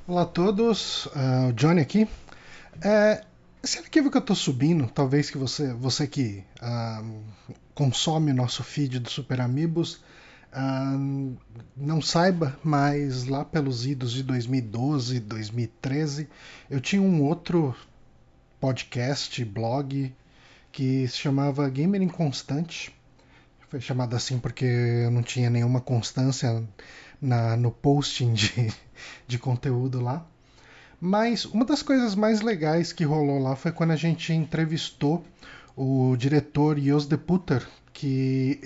Olá a todos, o Johnny aqui. Esse arquivo que eu estou subindo, talvez que você que consome o nosso feed do Super Amigos ah, não saiba, mas lá pelos idos de 2012, 2013, eu tinha um outro podcast, blog, que se chamava Gamer Inconstante. Foi chamado assim porque eu não tinha nenhuma constância no posting de conteúdo lá. Mas uma das coisas mais legais que rolou lá foi quando a gente entrevistou o diretor Jos de Putter, que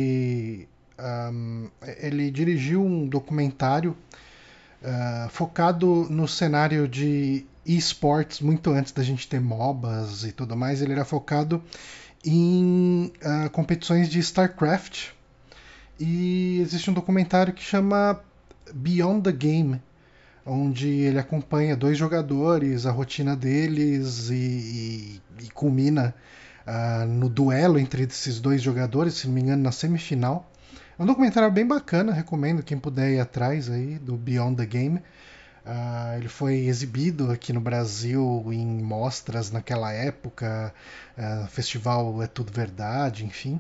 ele dirigiu um documentário focado no cenário de esportes muito antes da gente ter MOBAs e tudo mais. Ele era focado em competições de StarCraft. E existe um documentário que chama Beyond the Game, onde ele acompanha dois jogadores, a rotina deles e culmina no duelo entre esses dois jogadores, se não me engano, na semifinal. É um documentário bem bacana, recomendo quem puder ir atrás aí do Beyond the Game. Ele foi exibido aqui no Brasil em mostras naquela época, festival É Tudo Verdade, enfim.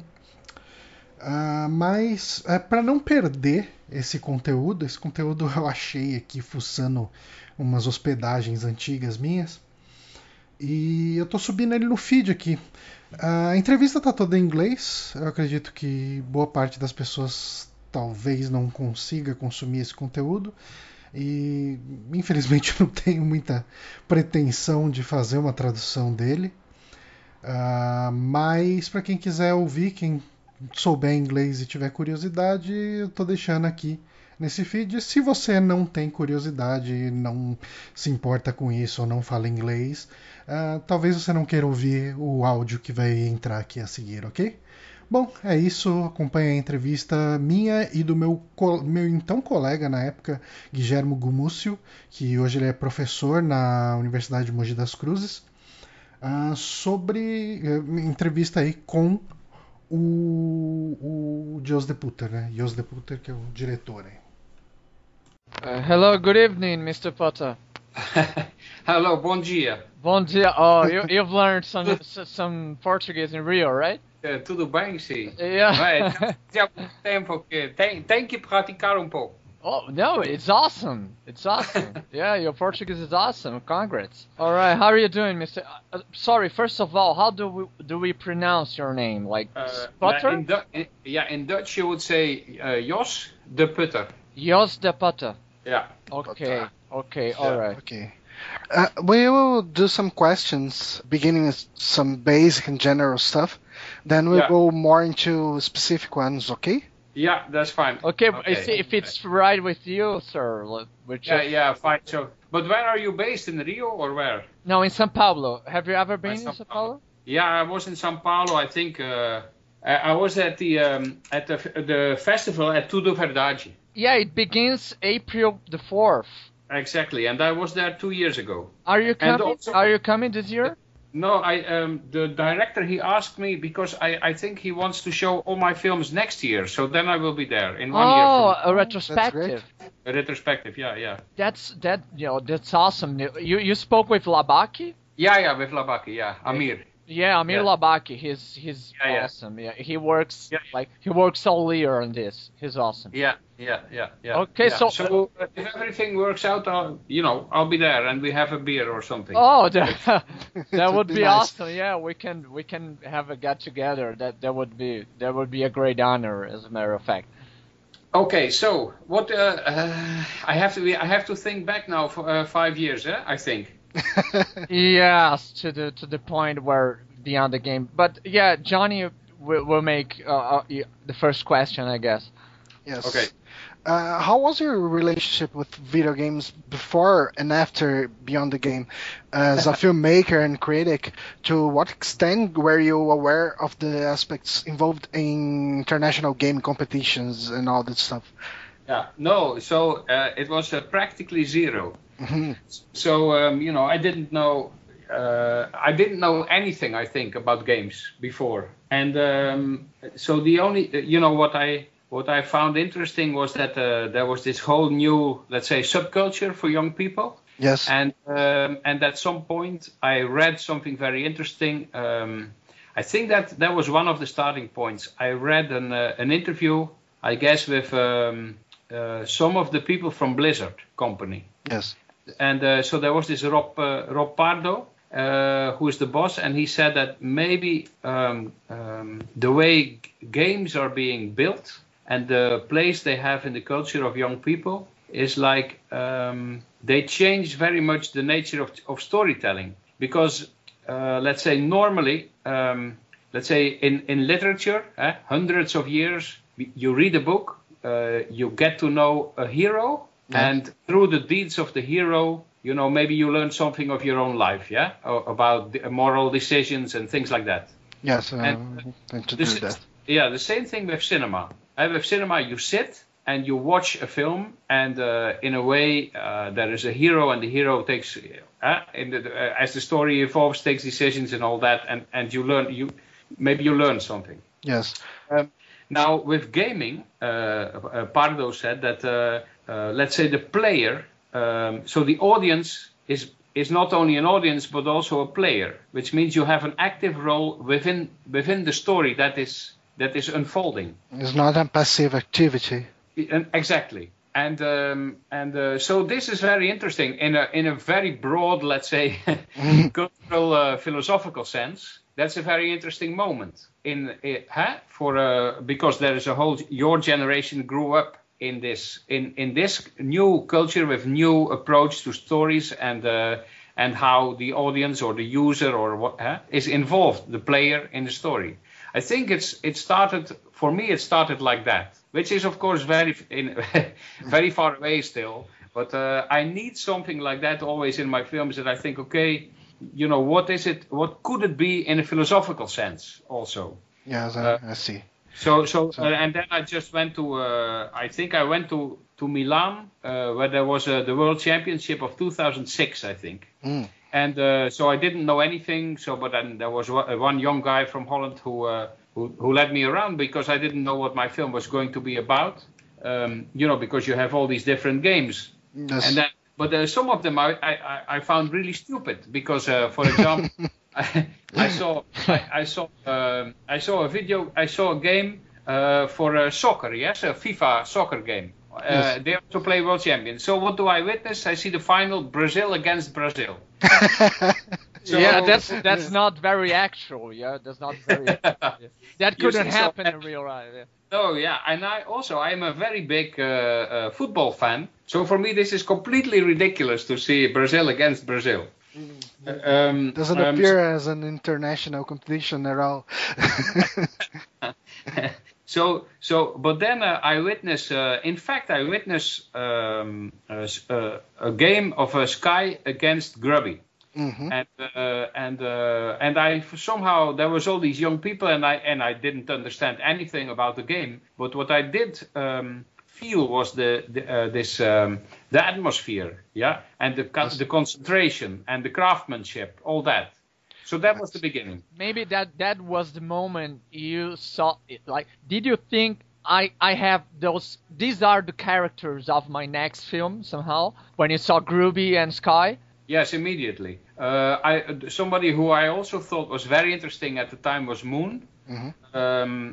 Mas para não perder esse conteúdo eu achei aqui fuçando umas hospedagens antigas minhas e eu tô subindo ele no feed aqui. A entrevista tá toda em inglês, eu acredito que boa parte das pessoas talvez não consiga consumir esse conteúdo e infelizmente eu não tenho muita pretensão de fazer uma tradução dele. Mas para quem quiser ouvir, quem souber inglês e tiver curiosidade, eu tô deixando aqui nesse feed. Se você não tem curiosidade, não se importa com isso ou não fala inglês, talvez você não queira ouvir o áudio que vai entrar aqui a seguir, ok? Bom, é isso. Acompanhe a entrevista minha e do meu então colega na época, Guilhermo Gumúcio, que hoje ele é professor na Universidade de Mogi das Cruzes, sobre entrevista aí com o Jos de Putter, né? Jos de Putter, que é o diretor aí. Hello, good evening, Mr. Potter. Hello, bom dia. Bom dia. Oh, you've learned some Portuguese in Rio, right? Tudo bem, sim? Yeah. Já há muito tempo que tem que praticar um pouco. Oh, no, it's awesome. It's awesome. Yeah, your Portuguese is awesome. Congrats. All right, how are you doing, Mr. Sorry, first of all, how do we pronounce your name? Like Potter? In Dutch you would say Jos de Putter. Jos de Potter. Yeah. Okay. Okay. All right. Okay. We will do some questions, beginning with some basic and general stuff. Then we'll go more into specific ones, okay? Yeah, that's fine. Okay. If it's right with you, sir. Yeah, fine. So, but where are you based, in Rio or where? No, in São Paulo. Have you ever been in São Paulo? Yeah, I was in São Paulo. I think I was at the festival at Tudo Verdade. Yeah, it begins April the 4th. Exactly, and I was there 2 years ago. Are you coming? Are you coming this year? No, the director, he asked me because I think he wants to show all my films next year, so then I will be there in 1 year. Oh, a retrospective. A retrospective, yeah. That's awesome. You spoke with Labaki? Yeah, with Labaki, yeah. Amir. Yeah, Amir Labaki. He's awesome. Yeah, he works he works all year on this. He's awesome. Yeah. Okay, so if everything works out, I'll be there and we have a beer or something. Oh, that would be nice. Awesome. Yeah, we can have a get together. That would be a great honor, as a matter of fact. Okay, so what I have to think back now for 5 years, I think. Yes, to the point where Beyond the Game. But yeah, Johnny will make the first question, I guess. Yes. Okay. How was your relationship with video games before and after Beyond the Game? As a filmmaker and critic, to what extent were you aware of the aspects involved in international game competitions and all that stuff? Yeah, no, so it was practically zero. Mm-hmm. So, I didn't know anything, I think, about games before. And so the only, what I found interesting was that there was this whole new, let's say, subculture for young people. Yes. And at some point I read something very interesting. I think that was one of the starting points. I read an interview, I guess, with some of the people from Blizzard company. Yes. And so there was this Rob Pardo, who is the boss, and he said that maybe the way games are being built and the place they have in the culture of young people is like they change very much the nature of storytelling. Because let's say normally, let's say in literature, hundreds of years, you read a book, you get to know a hero, and through the deeds of the hero, you know, maybe you learn something of your own life, about the moral decisions and things like that. Yes, Yeah, the same thing with cinema. With cinema, you sit and you watch a film, and in a way, there is a hero, and the hero takes, as the story evolves, takes decisions and all that, and you learn, maybe you learn something. Yes. Now with gaming, Pardo said that let's say the player, so the audience is not only an audience but also a player, which means you have an active role within the story that is unfolding. It's not a passive activity. Exactly. And so this is very interesting in a very broad, let's say, cultural philosophical sense. That's a very interesting moment because there is a whole, your generation grew up in this new culture with new approach to stories and how the audience or the user or what is involved, the player in the story. I think it started like that, which is of course very far away still. But I need something like that always in my films, that I think, okay, you know, what is it? What could it be in a philosophical sense also? Yes, I see. So and then I just went to I think I went to Milan where there was the World Championship of 2006, I think. And so I didn't know anything. But then there was one young guy from Holland who led me around, because I didn't know what my film was going to be about. You know, because you have all these different games. Yes. And then, but some of them I found really stupid, because for example, I saw a game for soccer, yes, a FIFA soccer game. Yes. They have to play World Champions. So what do I witness? I see the final, Brazil against Brazil. So, yeah, that's not very actual. Yeah, that's not very. That couldn't happen in real life. Yeah. No, yeah, and I'm a very big football fan. So for me, this is completely ridiculous to see Brazil against Brazil. Doesn't appear as an international competition at all. But then I witnessed a game of Sky against Grubby. Mm-hmm. And I somehow, there was all these young people, and I didn't understand anything about the game. But what I did feel was the atmosphere, yeah, and the concentration and the craftsmanship, all that. So that was the beginning. Maybe that was the moment you saw it. Like, did you think I have those? These are the characters of my next film somehow. When you saw Grubby and Sky. Yes, immediately. Somebody who I also thought was very interesting at the time was Moon. Mm-hmm.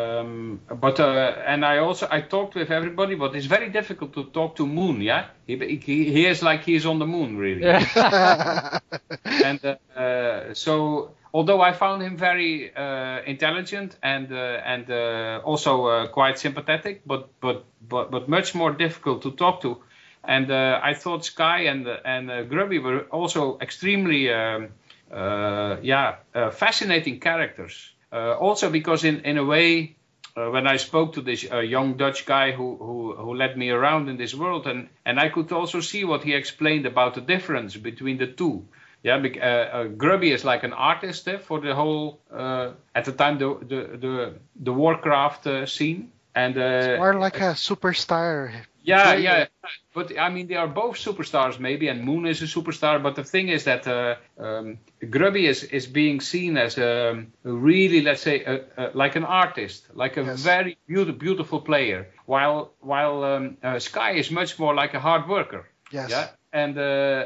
I talked with everybody, but it's very difficult to talk to Moon. Yeah, he is like he's on the moon, really. Yeah. And so, although I found him very intelligent and also quite sympathetic, but much more difficult to talk to. And I thought Sky and Grubby were also extremely fascinating characters. Also because in a way, when I spoke to this young Dutch guy who led me around in this world, and I could also see what he explained about the difference between the two. Yeah, Grubby is like an artist for the whole at the time the Warcraft scene. And it's more like a superstar. Yeah. But I mean, they are both superstars, maybe, and Moon is a superstar. But the thing is that Grubby is being seen as really, let's say, like an artist, like a very beautiful player, while Sky is much more like a hard worker. Yes. Yeah. And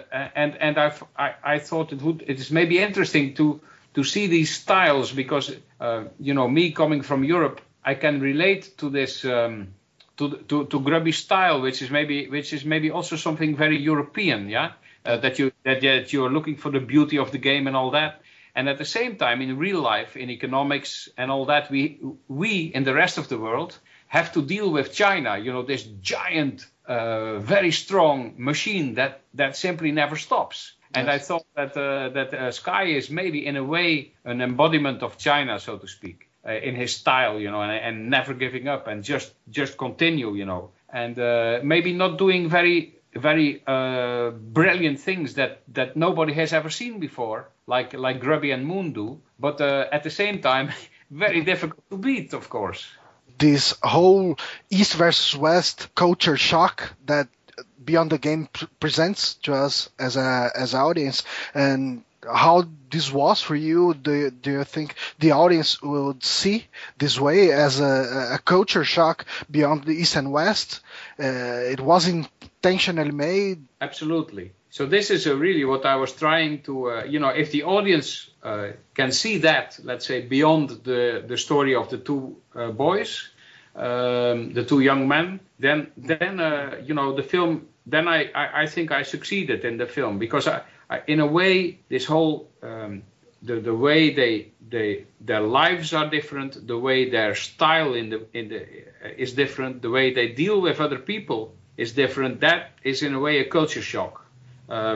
I thought it is maybe interesting to see these styles because me coming from Europe, I can relate to this. To Grubby style, which is maybe also something very European, that you're looking for the beauty of the game and all that, and at the same time in real life, in economics and all that, we in the rest of the world have to deal with China, this giant, very strong machine that simply never stops. And I thought that Sky is maybe in a way an embodiment of China, so to speak. In his style, and never giving up and just continue, and maybe not doing very, very brilliant things that nobody has ever seen before, like Grubby and Moon do, but at the same time, very difficult to beat, of course. This whole East versus West culture shock that Beyond the Game presents to us as an audience, and how this was for you. Do you think the audience would see this way as a culture shock beyond the East and West? It was intentionally made? Absolutely. So this is really what I was trying to, if the audience can see that, let's say, beyond the story of the two boys, the two young men, then the film, then I think I succeeded in the film, because in a way, this whole the way their lives are different, the way their style is different, the way they deal with other people is different. That is in a way a culture shock. I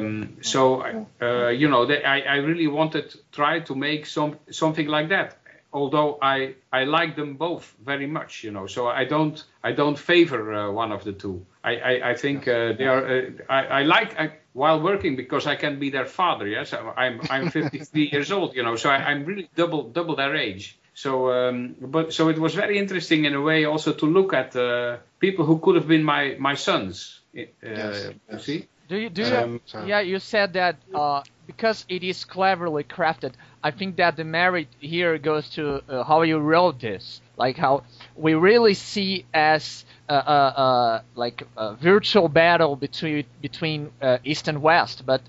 really wanted to try to make something like that. Although I like them both very much, so I don't favor one of the two. I think they are. I like while working, because I can be their father. Yes, I'm 53 years old. So I'm really double their age. So it was very interesting in a way also to look at people who could have been my sons. Yes. You see. You said that because it is cleverly crafted. I think that the merit here goes to how you wrote this, like how we really see as like a virtual battle between East and West, but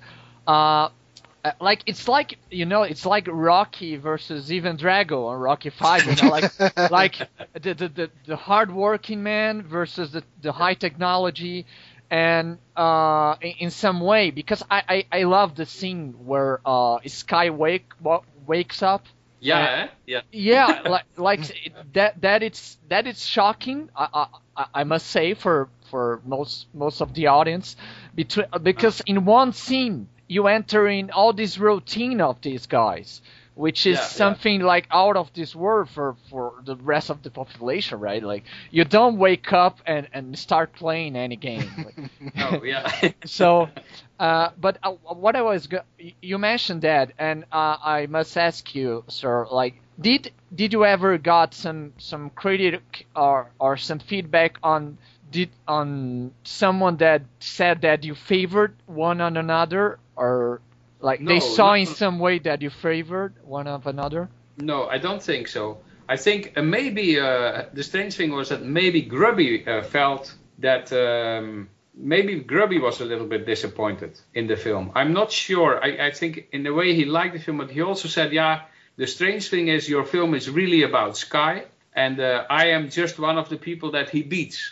like it's like Rocky versus Ivan Drago or Rocky 5, like the hard-working man versus the high technology. And in some way, because I love the scene where Sky wakes up. Yeah. Like that it's shocking. I must say for most of the audience, because in one scene you enter in all this routine of these guys, which is something like out of this world for the rest of the population, right? Like you don't wake up and start playing any game. So, but what I was you mentioned that, and I must ask you, sir, like did you ever got some critic or some feedback on someone that said that you favored one on another, or like they saw in some way that you favored one of another? No, I don't think so. I think maybe the strange thing was that maybe Grubby felt that maybe Grubby was a little bit disappointed in the film. I'm not sure. I think in a way he liked the film, but he also said, the strange thing is your film is really about Sky, and I am just one of the people that he beats.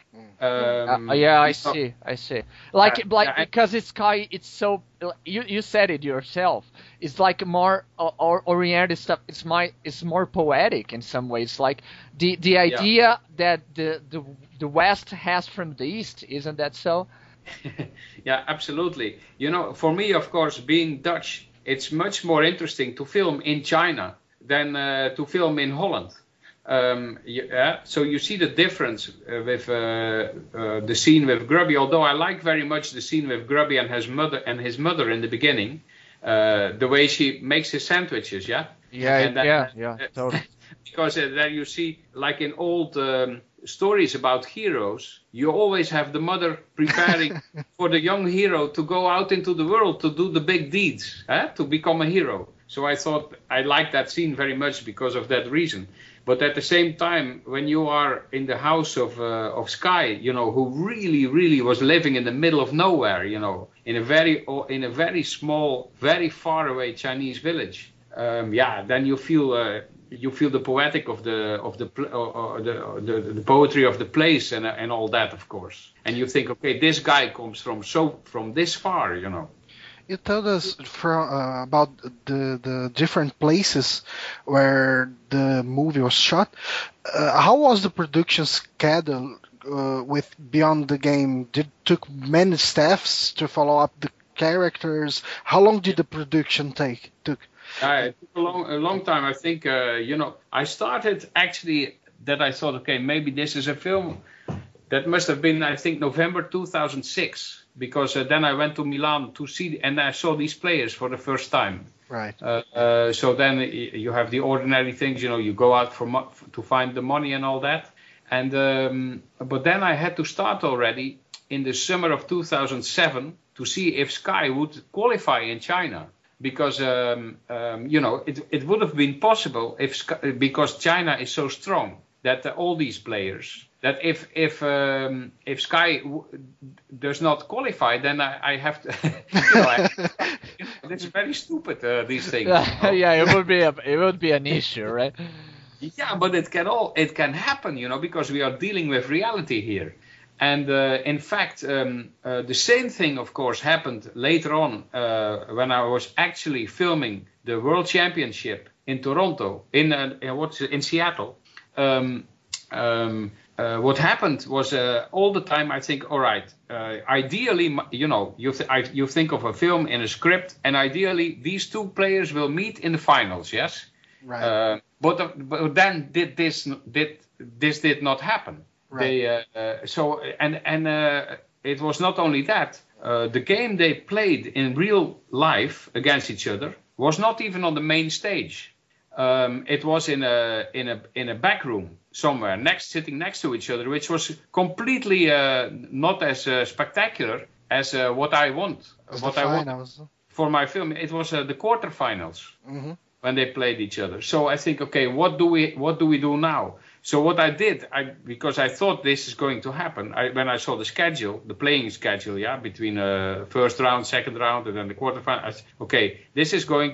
I see. Like because it's Sky, it's so you said it yourself. It's like more oriented stuff. It's more poetic in some ways. Like the idea that the West has from the East, isn't that so? Yeah, absolutely. For me, of course, being Dutch, it's much more interesting to film in China than to film in Holland. So you see the difference with the scene with Grubby. Although I like very much the scene with Grubby and his mother in the beginning, the way she makes his sandwiches. Totally. because there you see, like in old stories about heroes, you always have the mother preparing for the young hero to go out into the world to do the big deeds, to become a hero. So I thought I liked that scene very much because of that reason. But at the same time, when you are in the house of Sky, who really was living in the middle of nowhere, in a very small, very far away Chinese village, then you feel the poetic of the poetry of the place and all that, of course. And you think, okay, this guy comes from this far, You told us about the different places where the movie was shot. How was the production schedule with Beyond the Game? Did it took many staffs to follow up the characters? How long did the production take? It took a long time. I think I started actually that I thought, okay, maybe this is a film. That must have been, I think, November 2006, because then I went to Milan to see, and I saw these players for the first time. Right. So then you have the ordinary things, you go out to find the money and all that. And but then I had to start already in the summer of 2007 to see if Sky would qualify in China. Because it would have been possible because China is so strong that all these players. That if Sky does not qualify, then I have to. It's very stupid. These things. Yeah, it would be an issue, right? Yeah, but it can happen, because we are dealing with reality here. And in fact, the same thing, of course, happened later on when I was actually filming the World Championship in Toronto, in Seattle. What happened was all the time I think, all right, ideally, you think of a film in a script, and ideally these two players will meet in the finals, yes? Right. But then this did not happen. Right. It was not only that. The game they played in real life against each other was not even on the main stage. It was in a back room somewhere, sitting next to each other, which was completely not as spectacular as what I want. For my film. It was the quarterfinals when they played each other. So I think, okay, what do we do now? So what I did, because I thought this is going to happen, when I saw the playing schedule, between first round, second round, and then the quarterfinal, I said, okay, this is going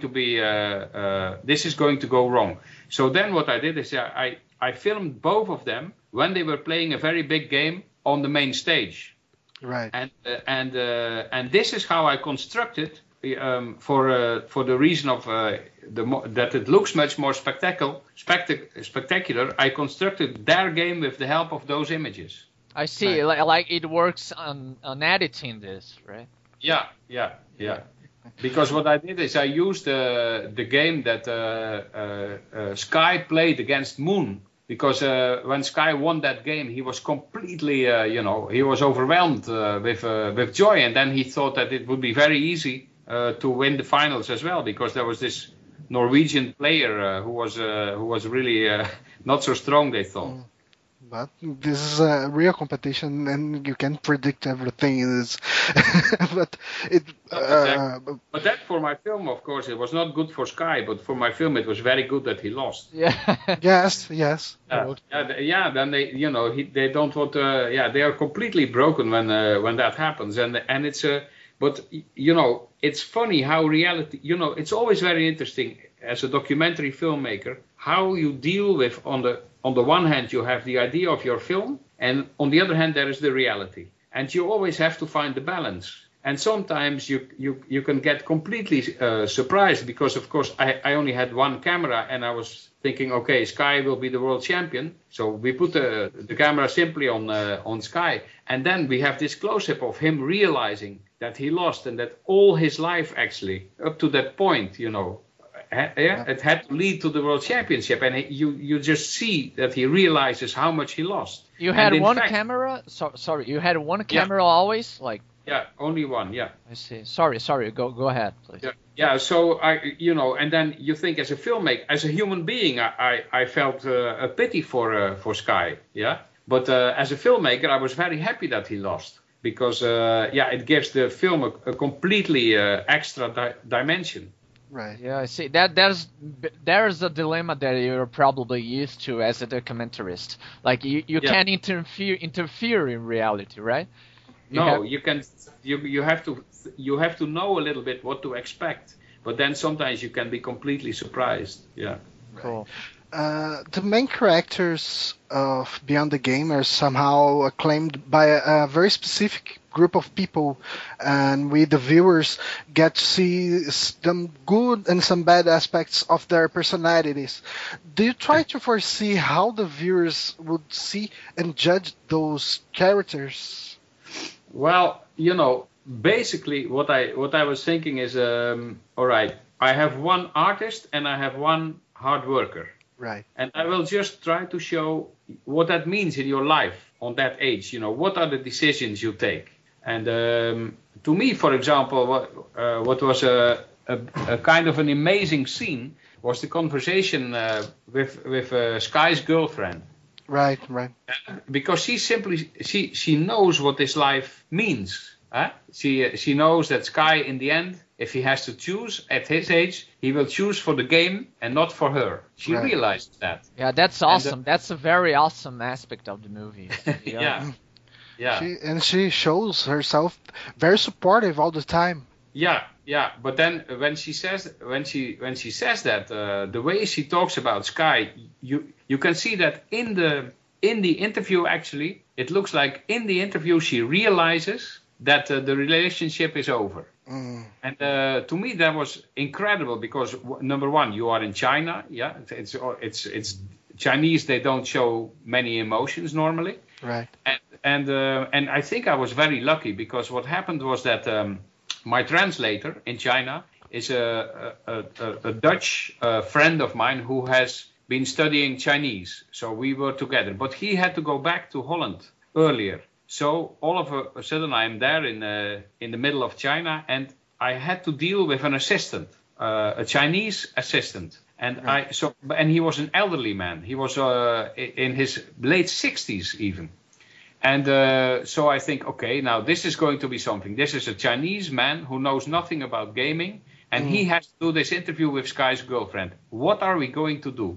to go wrong. So then what I did is I filmed both of them when they were playing a very big game on the main stage. Right. And this is how I constructed for the reason of that it looks much more spectacular. I constructed their game with the help of those images. I see. Right. Like it works on editing this, right? Yeah. Because what I did is I used the game that Sky played against Moon. Because when Sky won that game, he was completely, he was overwhelmed with joy, and then he thought that it would be very easy to win the finals as well, because there was this Norwegian player who was really not so strong, they thought. But this is a real competition, and you can predict everything. But that for my film, of course, it was not good for Sky. But for my film, it was very good that he lost. Yeah. Yes. Then they don't want. They are completely broken when that happens, and it's But it's funny how reality. It's always very interesting as a documentary filmmaker how you deal with on the one hand, you have the idea of your film, and on the other hand, there is the reality. And you always have to find the balance. And sometimes you can get completely surprised because, of course, I only had one camera and I was thinking, okay, Sky will be the world champion. So we put the camera simply on Sky. And then we have this close-up of him realizing that he lost and that all his life actually, up to that point, it had to lead to the world championship, and you just see that he realizes how much he lost. You had one camera? Sorry, you had one camera always? Like Yeah, only one. Yeah. I see. Sorry. Go ahead, please. Yeah. Yeah. So and then you think as a filmmaker, as a human being, I felt a pity for Sky. Yeah. But as a filmmaker, I was very happy that he lost because it gives the film a completely extra dimension. Right. Yeah, I see. There's a dilemma that you're probably used to as a documentarist. Like you can't interfere in reality, right? You can. You have to know a little bit what to expect, but then sometimes you can be completely surprised. Yeah. Cool. The main characters of Beyond the Game are somehow acclaimed by a very specific group of people, and we, the viewers, get to see some good and some bad aspects of their personalities. Do you try to foresee how the viewers would see and judge those characters? Well, basically what I was thinking is, all right, I have one artist and I have one hard worker. Right. And I will just try to show what that means in your life on that age. What are the decisions you take? And to me, for example, what was a kind of an amazing scene was the conversation with Sky's girlfriend. Right. Because she knows what this life means. Huh? She knows that Sky, in the end, if he has to choose at his age, he will choose for the game and not for her. She realizes that. Yeah, that's awesome. That's a very awesome aspect of the movie. Yeah. She shows herself very supportive all the time. Yeah. But then when she says that, the way she talks about Sky, you can see that in the interview. Actually, it looks like in the interview she realizes that the relationship is over. And to me that was incredible because number one, you are in China. Yeah, it's Chinese. They don't show many emotions normally. Right. And I think I was very lucky because what happened was that my translator in China is a Dutch friend of mine who has been studying Chinese. So we were together, but he had to go back to Holland earlier. So all of a sudden I'm there in the middle of China, and I had to deal with an assistant, a Chinese assistant, and and he was an elderly man. He was in his late 60s even, and so I think, okay, now this is going to be something. This is a Chinese man who knows nothing about gaming, and he has to do this interview with Sky's girlfriend. What are we going to do?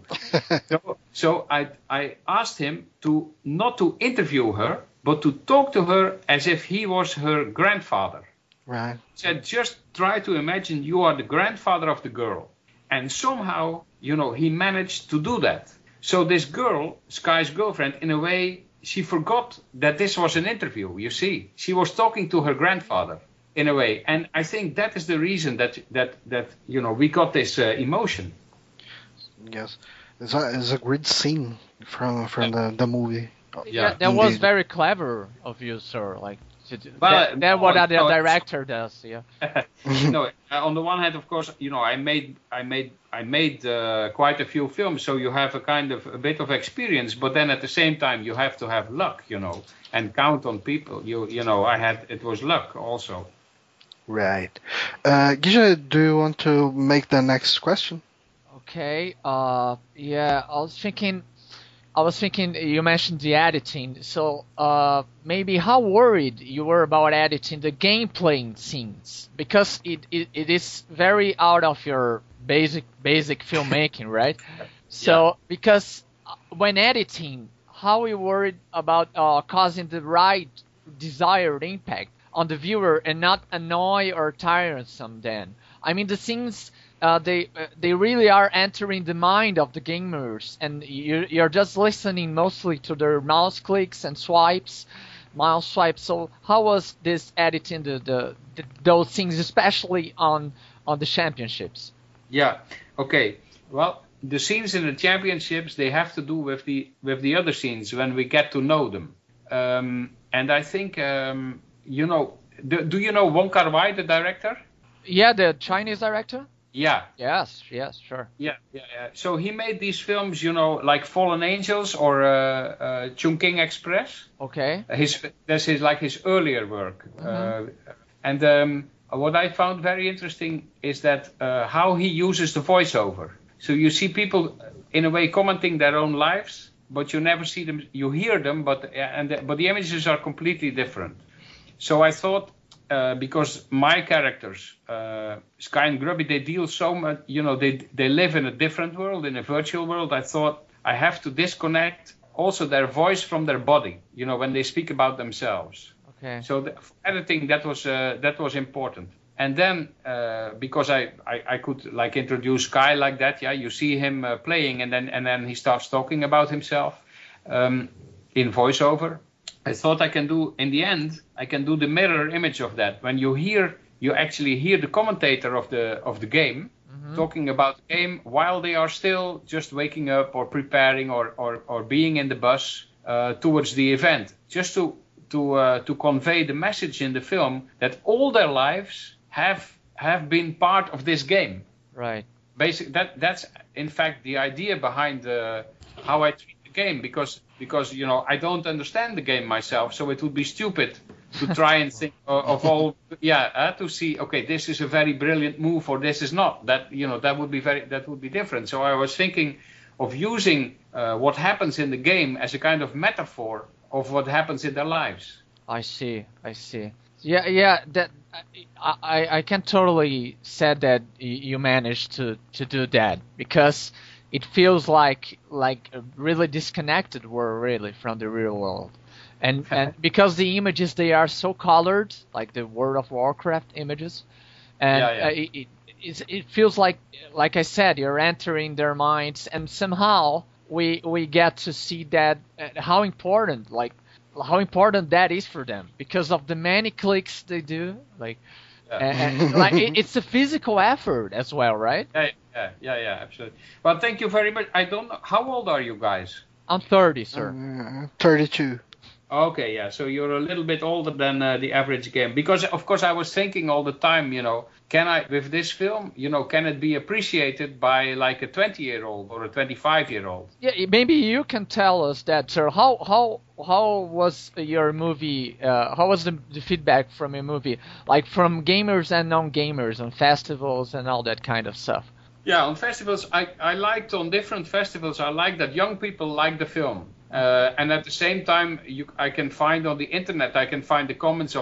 so I asked him not to interview her, but to talk to her as if he was her grandfather. Right. He said, just try to imagine you are the grandfather of the girl. And somehow, he managed to do that. So this girl, Sky's girlfriend, in a way, she forgot that this was an interview, you see. She was talking to her grandfather, in a way. And I think that is the reason that we got this emotion. Yes. It's a great scene from the movie. Yeah, that was very clever of you, sir. Like, that what the director does. Yeah. No, on the one hand, of course, I made quite a few films, so you have a bit of experience. But then at the same time, you have to have luck, and count on people. It was luck also. Right. Guille, do you want to make the next question? Okay. Yeah, I was thinking you mentioned the editing, so maybe how worried you were about editing the gameplay scenes, because it is very out of your basic filmmaking, right? So because when editing, how are you worried about causing the right desired impact on the viewer and not annoy or tiresome then? I mean, the scenes they really are entering the mind of the gamers, and you're just listening mostly to their mouse clicks and mouse swipes. So how was this editing those things, especially on the championships? Yeah. Okay. Well, the scenes in the championships, they have to do with the other scenes when we get to know them. And I think do you know Wong Kar-wai, the director? Yeah, the Chinese director. Yeah. Yes, sure. Yeah. So he made these films, like Fallen Angels or Chungking Express. Okay. That's his earlier work. And what I found very interesting is that how he uses the voiceover. So you see people in a way commenting their own lives, but you never see them. You hear them, but the images are completely different. So I thought, because my characters, Sky and Grubby, they deal so much, they live in a different world, in a virtual world. I thought I have to disconnect also their voice from their body, when they speak about themselves. Okay. So for editing, that was important. And then, because I could like introduce Sky like that, you see him playing, and then he starts talking about himself in voiceover. I thought in the end, I can do the mirror image of that. When you actually hear the commentator of the game talking about the game while they are still just waking up or preparing or being in the bus towards the event, just to convey the message in the film that all their lives have been part of this game. Right. Basically, that's in fact the idea behind how I treat the game, because I don't understand the game myself, so it would be stupid to try and think of all to see, okay, this is a very brilliant move or this is not. That that would be different. So I was thinking of using what happens in the game as a kind of metaphor of what happens in their lives. I see. Yeah. That I can totally say that you managed to do that, because it feels like a really disconnected world, really, from the real world, and because the images, they are so colored, like the World of Warcraft images, and it feels like I said, you're entering their minds, and somehow we get to see that how important that is for them, because of the many clicks they do, and like it's a physical effort as well, right? Yeah, absolutely. Well, thank you very much. I don't know, how old are you guys? I'm 30, sir. 32. Okay, yeah. So you're a little bit older than the average game, because of course I was thinking all the time, can I, with this film, can it be appreciated by like a 20-year-old or a 25-year-old? Yeah, maybe you can tell us that, sir. How was your movie? How was the feedback from your movie, like from gamers and non-gamers on festivals and all that kind of stuff? Yeah, on festivals, I liked, on different festivals, I liked that young people liked the film. And at the same time, I can find on the internet, I can find the comments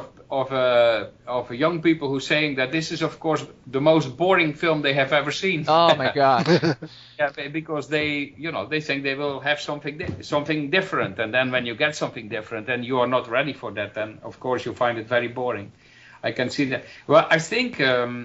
of young people who saying that this is, of course, the most boring film they have ever seen. Oh my God! Yeah, because they think they will have something different, and then when you get something different, and you are not ready for that, then of course you find it very boring. I can see that. Well, I think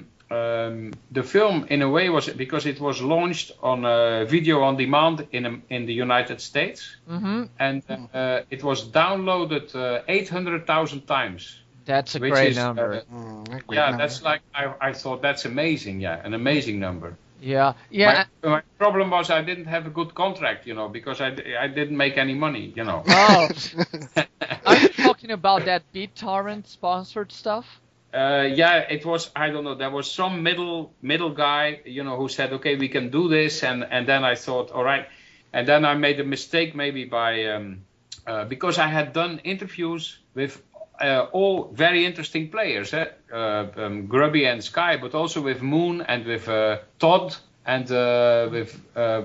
the film, in a way, was because it was launched on video on demand in the United States, and it was downloaded 800,000 times. That's a great number. That's like I thought that's amazing. Yeah, an amazing number. Yeah. My problem was I didn't have a good contract, because I didn't make any money, Oh, are you talking about that BitTorrent sponsored stuff? It was, I don't know, there was some middle guy, who said, okay, we can do this, and then I thought, all right, and then I made a mistake maybe by because I had done interviews with all very interesting players, Grubby and Sky, but also with Moon and with Todd and with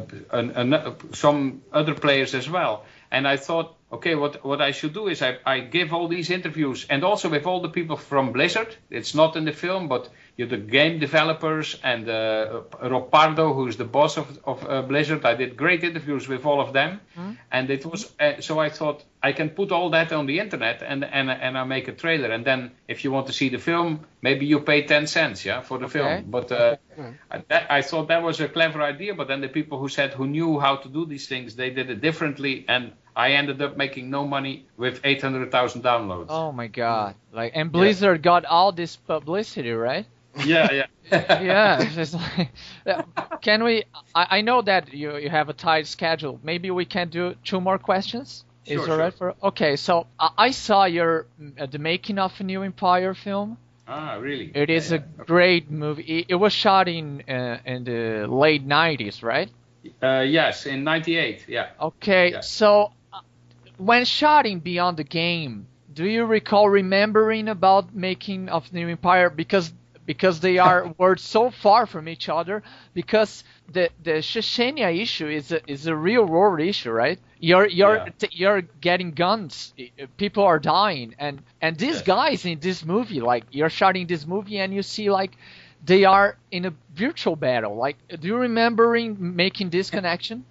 some other players as well. And I thought, okay, what I should do is I give all these interviews, and also with all the people from Blizzard. It's not in the film, but the game developers and Rob Pardo, who's the boss of Blizzard. I did great interviews with all of them, and it was so I thought I can put all that on the internet and I make a trailer, and then if you want to see the film, maybe you pay 10 cents, for the film. But I thought that was a clever idea. But then the people who knew how to do these things, they did it differently, and I ended up making no money with 800,000 downloads. Oh my God! And Blizzard got all this publicity, right? Yeah. Yeah. It's just like, can we? I know that you have a tight schedule. Maybe we can do 2 more questions. Sure, Is it all right for? Okay. So I saw the making of a New Empire film. Ah, really? It is a great movie. It was shot in the late 90s, right? Yes, in '98. Yeah. Okay, Yeah. so when shot in Beyond the Game, do you recall remembering about making of New Empire because they were so far from each other, because the Chechnya issue is a real world issue, right? You're getting guns, people are dying, and these guys in this movie, like you're shooting this movie and you see like they are in a virtual battle. Like, do you remember making this connection?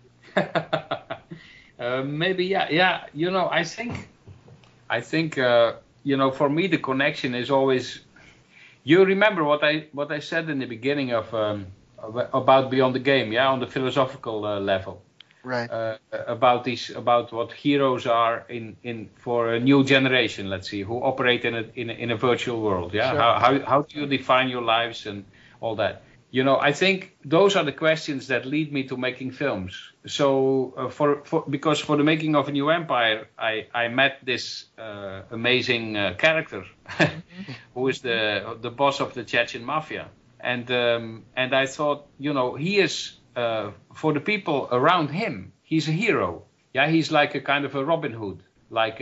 Maybe, yeah. You know, I think you know, for me the connection is always. You remember what I said in the beginning of about Beyond the Game, yeah, on the philosophical level, right? About what heroes are for a new generation, let's see, who operate in a virtual world, yeah. Sure. How do you define your lives and all that? You know, I think those are the questions that lead me to making films. So because for the making of A New Empire, I met this amazing character who is the boss of the Chechen mafia, and I thought, you know, he is for the people around him, he's a hero. Yeah, he's like a kind of a Robin Hood, like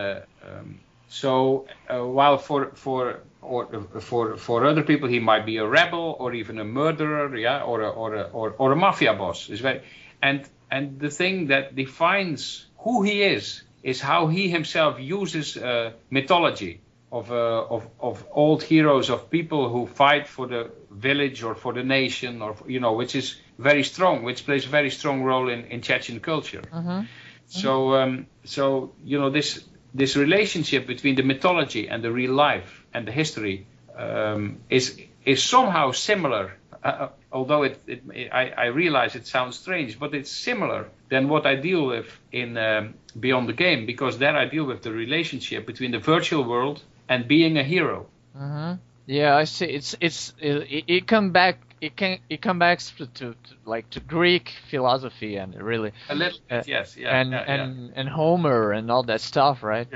while for other people he might be a rebel or even a murderer, yeah, or a mafia boss. Is very and the thing that defines who he is how he himself uses mythology of old heroes, of people who fight for the village or for the nation, or you know, which is very strong, which plays a very strong role in Chechen culture. So you know, this relationship between the mythology and the real life and the history is somehow similar, although I realize it sounds strange, but it's similar than what I deal with in Beyond the Game, because there I deal with the relationship between the virtual world and being a hero. Yeah, I see. It comes back to Greek philosophy, and really a little bit, yes, yeah, and Homer and all that stuff, right?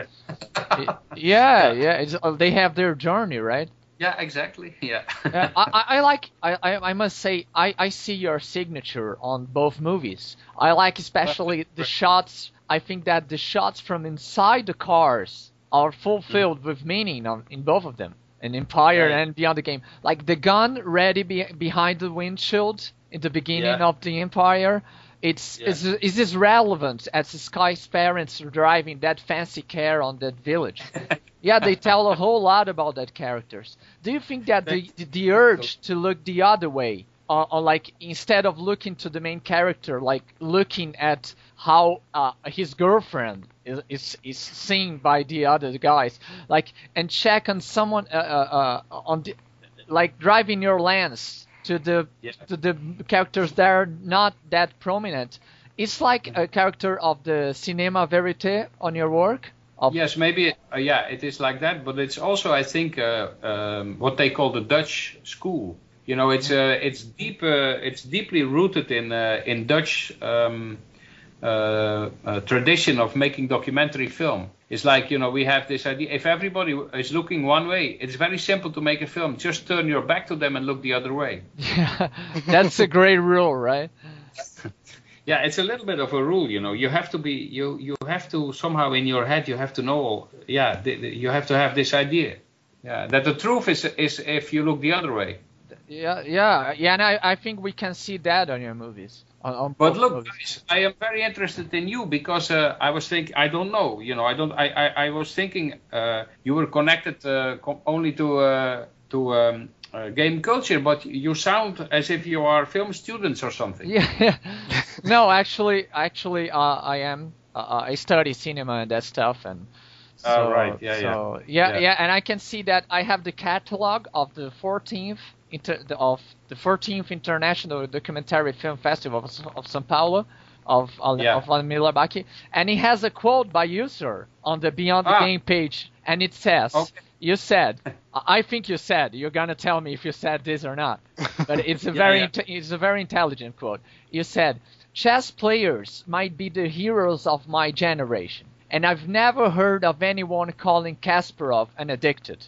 Yeah. They have their journey, right? Yeah, exactly. Yeah. I must say, I see your signature on both movies. I like especially the shots. I think that the shots from inside the cars are fulfilled with meaning in both of them, in Empire and Beyond the Game. Like the gun ready behind the windshield in the beginning of the Empire. It's as relevant as Sky's parents driving that fancy car on that village. Yeah, they tell a whole lot about that characters. Do you think that the urge to look the other way, or like instead of looking to the main character, like looking at how his girlfriend is seen by the other guys, like, and check on someone on the, like driving your lens to the characters that are not that prominent. It's like a character of the Cinema Verite on your work. Yes, maybe. It is like that, but it's also, I think, what they call the Dutch school. You know, it's deeply rooted in Dutch tradition of making documentary film. It's like, you know, we have this idea. If everybody is looking one way, it's very simple to make a film. Just turn your back to them and look the other way. Yeah, that's a great rule, right? Yeah, it's a little bit of a rule, you know. You have to be, you have to somehow in your head, you have to know, you have to have this idea, that the truth is if you look the other way. Yeah, and I think we can see that on your movies. But look, guys, I am very interested in you because I was thinking, I don't know, you know, I was thinking you were connected only to game culture, but you sound as if you are film students or something. Yeah. No, actually, I am. I study cinema and that stuff, and so, right, yeah, and I can see that I have the catalog of the 14th International Documentary Film Festival of São Paulo of Vladimir Labaki, and he has a quote by you, sir, on the Beyond the Game page, and it says. Okay. You said, I think you said, you're gonna tell me if you said this or not, but it's a it's a very intelligent quote. You said, chess players might be the heroes of my generation, and I've never heard of anyone calling Kasparov an addicted.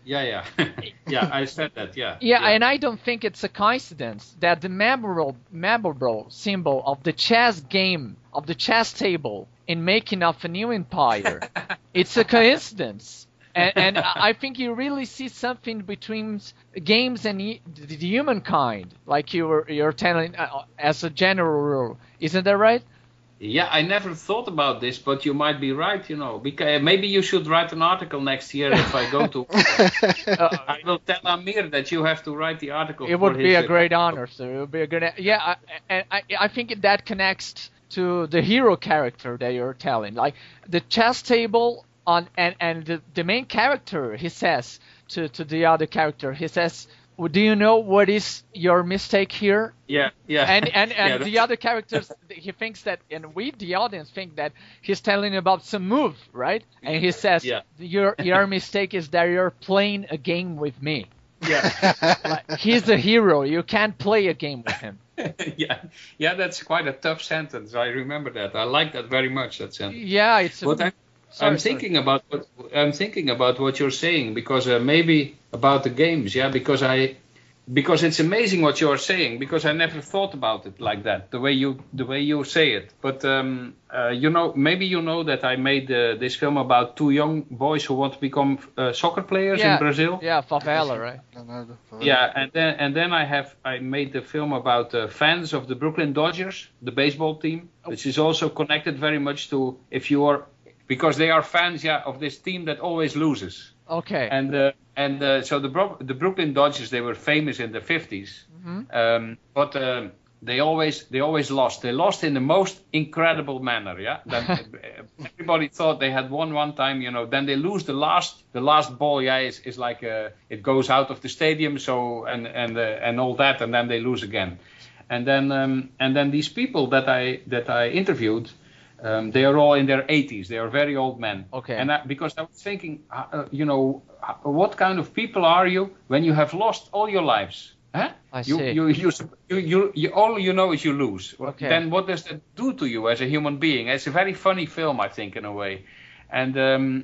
Yeah. Yeah, I said that. Yeah. Yeah, and I don't think it's a coincidence that the memorable symbol of the chess game, of the chess table, in making of a new empire, it's a coincidence. And I think you really see something between games and the humankind, like you're telling as a general rule. Isn't that right? Yeah, I never thought about this, but you might be right, because maybe you should write an article next year if I go to... I will tell Amir that you have to write the article. It would be a great honor, sir. It would be a good... Yeah, I think that connects to the hero character that you're telling. Like, the chess table and the main character, he says to the other character, he says... Do you know what is your mistake here? Yeah. And the other characters, he thinks that, and we, the audience, think that he's telling about some move, right? And he says, your mistake is that you're playing a game with me. Yeah. Like, he's a hero. You can't play a game with him. Yeah, that's quite a tough sentence. I remember that. I like that very much, that sentence. Yeah, it's... I'm thinking about what you're saying, because maybe about the games, because it's amazing what you're saying, because I never thought about it like that, the way you say it. But maybe you know that I made this film about two young boys who want to become soccer players in Brazil. Yeah, favela, right? Yeah, and then I made the film about fans of the Brooklyn Dodgers, the baseball team, which is also connected very much to because they are fans, of this team that always loses. Okay. So the Brooklyn Dodgers, they were famous in the 50s, but they always lost. They lost in the most incredible manner. Yeah. Everybody thought they had won one time. Then they lose the last ball. Yeah, is like it goes out of the stadium. So and all that, and then they lose again. And then these people that I interviewed. They are all in their 80s. They are very old men. Okay. And because I was thinking, what kind of people are you when you have lost all your lives? Huh? I see. You all you know is you lose. Okay. Then what does that do to you as a human being? It's a very funny film, I think, in a way. And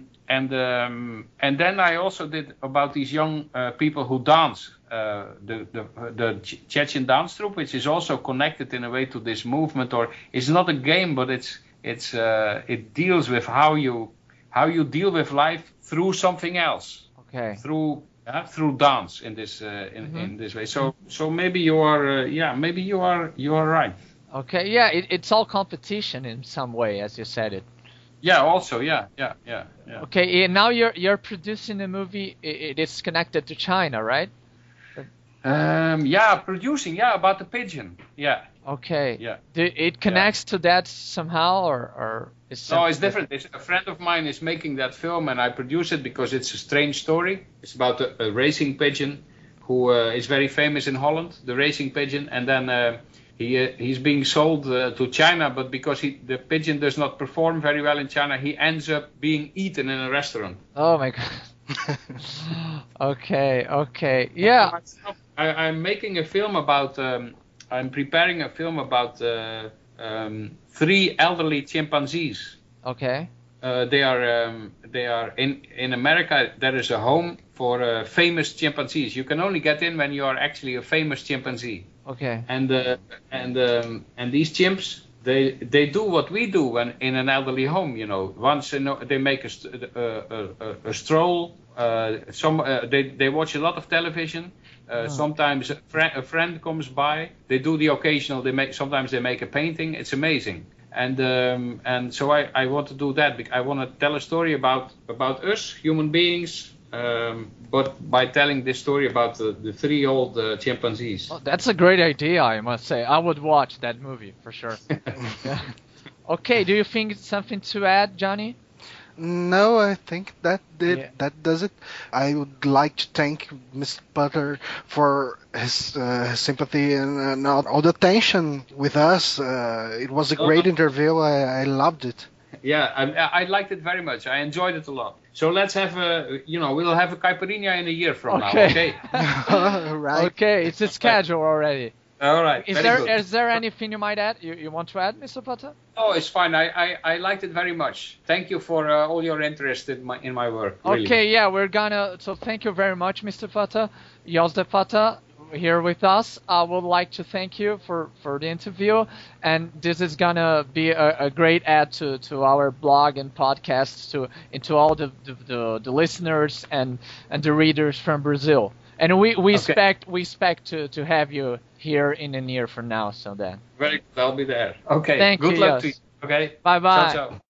then I also did about these young people who dance. The Chechen dance troupe, which is also connected in a way to this movement, or it's not a game, but it deals with how you deal with life through something else. Okay. Through dance in this in this way. So maybe you are you are right. Okay. Yeah. It's all competition in some way, as you said it. Yeah. Also. Yeah. Okay. And now you're producing a movie. It is connected to China, right? Producing. Yeah, about the pigeon. Yeah. Okay. Yeah. It connects to that somehow, or is no? It's different. A friend of mine is making that film, and I produce it because it's a strange story. It's about a racing pigeon who is very famous in Holland, the racing pigeon, and then he's being sold to China, but because the pigeon does not perform very well in China, he ends up being eaten in a restaurant. Oh my God. Okay. Yeah. I'm making a film about. I'm preparing a film about 3 elderly chimpanzees. Okay. They are in America. There is a home for famous chimpanzees. You can only get in when you are actually a famous chimpanzee. Okay. And these chimps, they do what we do when in an elderly home. Once they make a stroll. They watch a lot of television. Sometimes a friend comes by. They do the occasional. Sometimes they make a painting. It's amazing. And so I want to do that. I want to tell a story about us human beings, but by telling this story about the 3 old chimpanzees. Oh, that's a great idea, I must say. I would watch that movie for sure. Yeah. Okay. Do you think it's something to add, Johnny? No, I think that does it. I would like to thank Mr. Putter for his sympathy and all the attention with us. It was a great interview. I loved it. Yeah, I liked it very much. I enjoyed it a lot. So let's have we'll have a caipirinha in a year from now. Okay. Right. Okay, it's a schedule already. All right. Is there anything you might add? You want to add, Mr. Potter? No, it's fine. I liked it very much. Thank you for all your interest in my work. Really. Okay, yeah, so thank you very much, Mr. Potter. Jos de Potter here with us. I would like to thank you for the interview, and this is gonna be a great add to our blog and podcasts into all the listeners and the readers from Brazil. And we expect to have you here in the near from now. So then. Very good. I'll be there. Okay. Thank you. Good luck Jos. to you. Okay. Bye bye. Ciao, ciao.